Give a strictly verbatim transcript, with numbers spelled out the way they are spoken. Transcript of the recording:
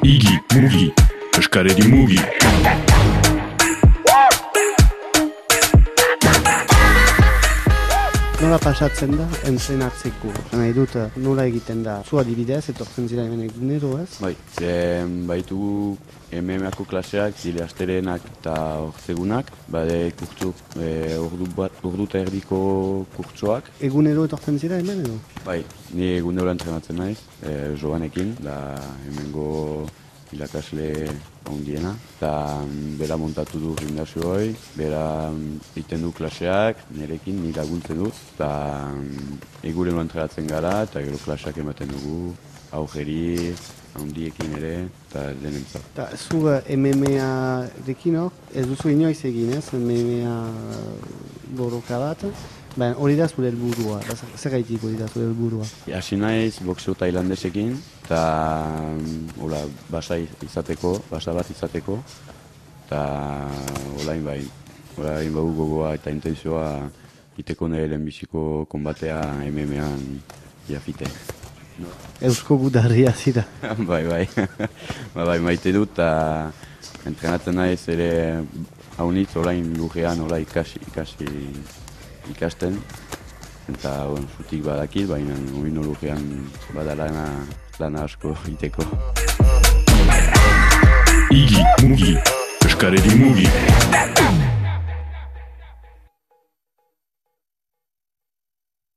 Igi, mugi, eskareri mugi. Nola pasatzen da, entrenatzeko? Nahi dut, nola egiten da? Zu adibidez, etortzen zira hemen egunero, ez? Bai, e, baitu M M A-ko klaseak, zile asterenak eta ortegunak, bade kurtsu, e, ordu bat, ordu eta erdiko kurtsoak. Egunero etortzen zira hemen edo? Bai, ni egunero entrenatzen naiz, e, Joanekin, da hemengo irakasle ondiena, eta bera montatu du gimnasio hoi, bera egiten du klaseak, nirekin, ni laguntzen dut, eta eguren entrenatzen gara, eta gero klaseak ematen dugu, aurreri, handiekin ere, eta denentzat. Eta zu M M A-rekin hor, ez duzu inoiz egin, ez? M M A borroka bat, baina hori da zure helburua, zer gaitik hori da zure helburua? Hasi naiz boxeo tailandesekin, eta hola, basa izateko, basa bat izateko, eta olain bai, olain bau gogoa eta intentzioa iteko nire lehenbiziko konbatea M M A-an jafite. No. Eusko gudarria zira. bai, bai, ba, bai, maite dut, eta entrenatzen naiz ere haunitz olain lurrean hola ikasi, ikasi ikasten, eta bon, zutik badakit, baina oino lurrean bada lana, lana asko iteko. Igi, mugi, eskareri mugi.